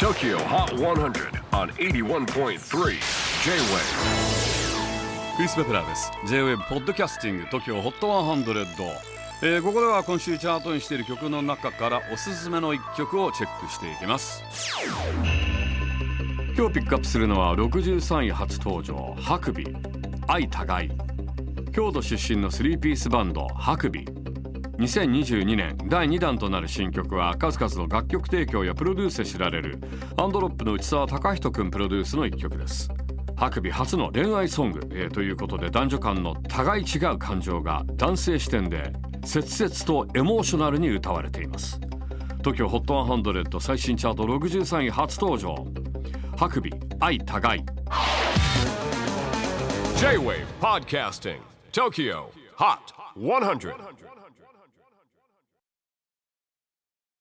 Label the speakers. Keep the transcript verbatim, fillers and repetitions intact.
Speaker 1: Tokyo Hot one hundred on エイティワンポイントスリー J-Wave。
Speaker 2: クリス・ベプラーです。 J-Wave ポッドキャスティング Tokyo Hot ひゃく、えー、ここでは今週チャートにしている曲の中からおすすめのいっきょくをチェックしていきます。今日ピックアップするのはろくじゅうさんい初登場、ハクビ愛互い。京都出身のスリーピースバンドハクビ。にせんにじゅうにねんだいにだんとなる新曲は数々の楽曲提供やプロデュースで知られるアンドロップの内澤貴人くんプロデュースのいっきょくです。ハクビ初の恋愛ソング、えー、ということで男女間の互い違う感情が男性視点で切々とエモーショナルに歌われています。 Tokyo ホットひゃく最新チャートろくじゅうさんい初登場、ハクビ愛互い。
Speaker 1: J-Wave Podcasting Tokyo Hot ひゃく。